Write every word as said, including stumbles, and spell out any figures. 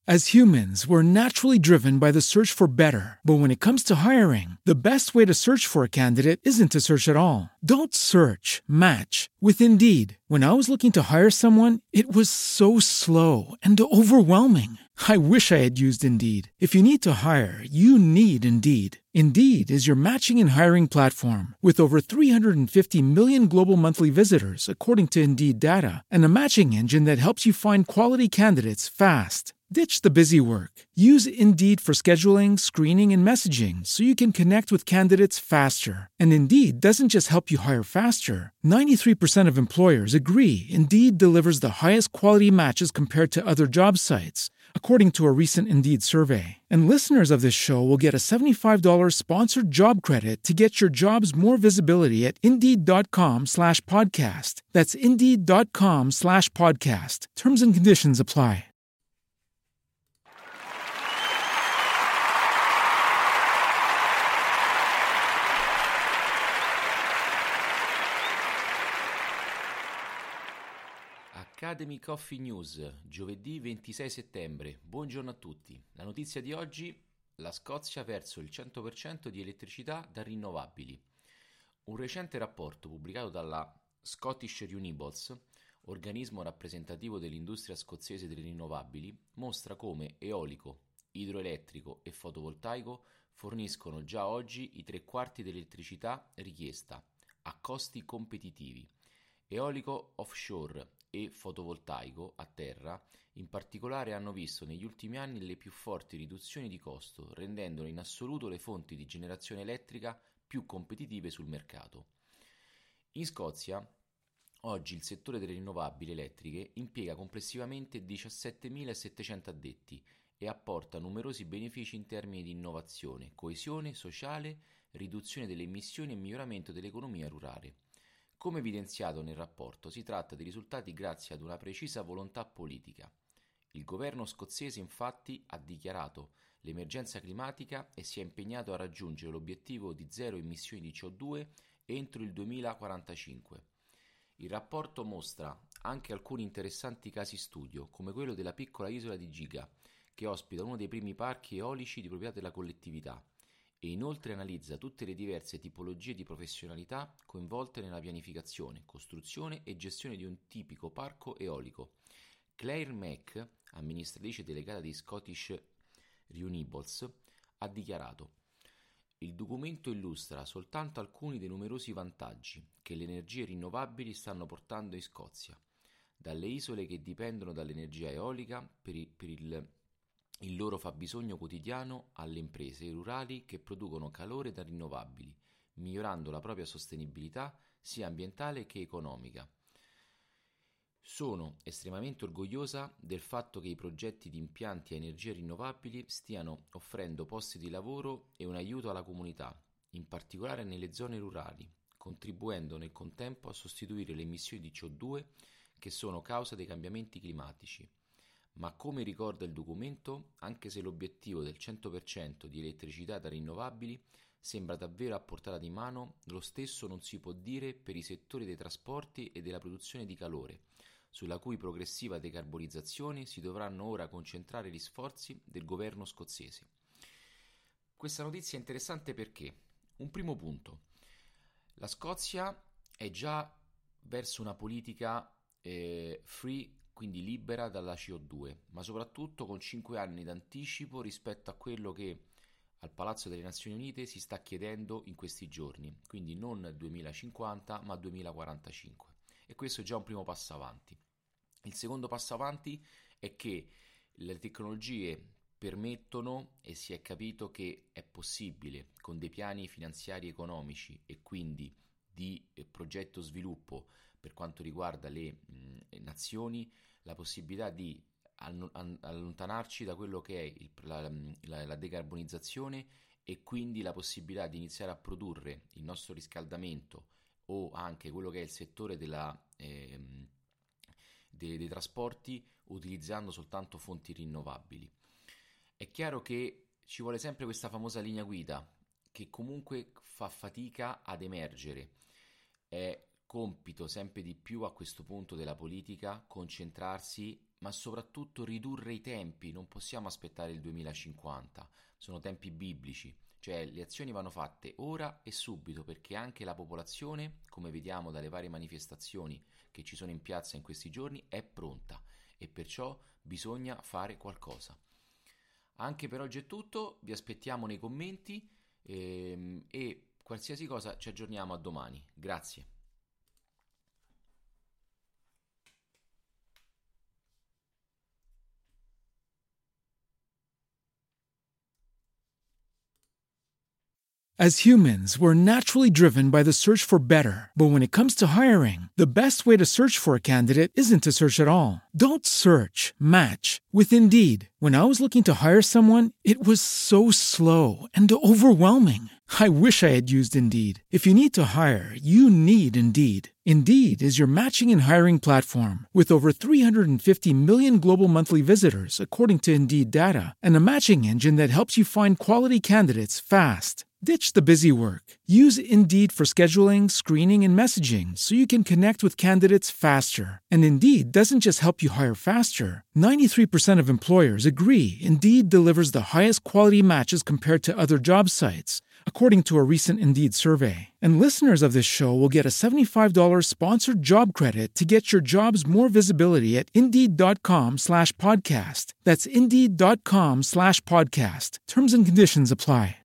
As humans, we're naturally driven by the search for better. But when it comes to hiring, the best way to search for a candidate isn't to search at all. Don't search, match with Indeed. When I was looking to hire someone, it was so slow and overwhelming. I wish I had used Indeed. If you need to hire, you need Indeed. Indeed is your matching and hiring platform with over three hundred fifty million global monthly visitors, according to Indeed data, and a matching engine that helps you find quality candidates fast. Ditch the busy work. Use Indeed for scheduling, screening, and messaging so you can connect with candidates faster. And Indeed doesn't just help you hire faster. ninety-three percent of employers agree Indeed delivers the highest quality matches compared to other job sites, according to a recent Indeed survey. And listeners of this show will get a seventy-five dollars sponsored job credit to get your jobs more visibility at Indeed.com slash podcast. That's Indeed.com slash podcast. Terms and conditions apply. Academy Coffee News, giovedì ventisei settembre. Buongiorno a tutti. La notizia di oggi: la Scozia verso il cento per cento di elettricità da rinnovabili. Un recente rapporto pubblicato dalla Scottish Renewables, organismo rappresentativo dell'industria scozzese delle rinnovabili, mostra come eolico, idroelettrico e fotovoltaico forniscono già oggi i tre quarti dell'elettricità richiesta a costi competitivi. Eolico offshore e fotovoltaico a terra, in particolare, hanno visto negli ultimi anni le più forti riduzioni di costo, rendendolo in assoluto le fonti di generazione elettrica più competitive sul mercato. In Scozia, oggi il settore delle rinnovabili elettriche impiega complessivamente diciassettemilasettecento addetti e apporta numerosi benefici in termini di innovazione, coesione sociale, riduzione delle emissioni e miglioramento dell'economia rurale. Come evidenziato nel rapporto, si tratta di risultati grazie ad una precisa volontà politica. Il governo scozzese infatti ha dichiarato l'emergenza climatica e si è impegnato a raggiungere l'obiettivo di zero emissioni di C O due entro il duemilaquarantacinque. Il rapporto mostra anche alcuni interessanti casi studio, come quello della piccola isola di Giga, che ospita uno dei primi parchi eolici di proprietà della collettività, e inoltre analizza tutte le diverse tipologie di professionalità coinvolte nella pianificazione, costruzione e gestione di un tipico parco eolico. Claire Mack, amministratrice delegata di Scottish Renewables, ha dichiarato: il documento illustra soltanto alcuni dei numerosi vantaggi che le energie rinnovabili stanno portando in Scozia, dalle isole che dipendono dall'energia eolica per il, per il il loro fabbisogno quotidiano alle imprese rurali che producono calore da rinnovabili, migliorando la propria sostenibilità sia ambientale che economica. Sono estremamente orgogliosa del fatto che i progetti di impianti a energie rinnovabili stiano offrendo posti di lavoro e un aiuto alla comunità, in particolare nelle zone rurali, contribuendo nel contempo a sostituire le emissioni di C O due che sono causa dei cambiamenti climatici. Ma come ricorda il documento, anche se l'obiettivo del cento per cento di elettricità da rinnovabili sembra davvero a portata di mano, lo stesso non si può dire per i settori dei trasporti e della produzione di calore, sulla cui progressiva decarbonizzazione si dovranno ora concentrare gli sforzi del governo scozzese. Questa notizia è interessante perché, un primo punto, la Scozia è già verso una politica eh, free, quindi libera dalla C O due, ma soprattutto con cinque anni d'anticipo rispetto a quello che al Palazzo delle Nazioni Unite si sta chiedendo in questi giorni, quindi non duemilacinquanta ma duemilaquarantacinque, e questo è già un primo passo avanti. Il secondo passo avanti è che le tecnologie permettono, e si è capito che è possibile con dei piani finanziari economici e quindi di eh, progetto sviluppo per quanto riguarda le mh, nazioni, la possibilità di allontanarci da quello che è il, la, la, la decarbonizzazione e quindi la possibilità di iniziare a produrre il nostro riscaldamento o anche quello che è il settore della, eh, dei, dei trasporti utilizzando soltanto fonti rinnovabili. È chiaro che ci vuole sempre questa famosa linea guida che comunque fa fatica ad emergere. È compito sempre di più a questo punto della politica concentrarsi ma soprattutto ridurre i tempi. Non possiamo aspettare il duemilacinquanta, sono tempi biblici, cioè le azioni vanno fatte ora e subito, perché anche la popolazione, come vediamo dalle varie manifestazioni che ci sono in piazza in questi giorni, è pronta e perciò bisogna fare qualcosa. Anche per oggi è tutto, vi aspettiamo nei commenti ehm, e qualsiasi cosa ci aggiorniamo a domani. Grazie. As humans, we're naturally driven by the search for better. But when it comes to hiring, the best way to search for a candidate isn't to search at all. Don't search, match with Indeed. When I was looking to hire someone, it was so slow and overwhelming. I wish I had used Indeed. If you need to hire, you need Indeed. Indeed is your matching and hiring platform with over three hundred fifty million global monthly visitors, according to Indeed data, and a matching engine that helps you find quality candidates fast. Ditch the busy work. Use Indeed for scheduling, screening, and messaging so you can connect with candidates faster. And Indeed doesn't just help you hire faster. ninety-three percent of employers agree Indeed delivers the highest quality matches compared to other job sites, according to a recent Indeed survey. And listeners of this show will get a seventy-five dollars sponsored job credit to get your jobs more visibility at Indeed.com slash podcast. That's Indeed.com slash podcast. Terms and conditions apply.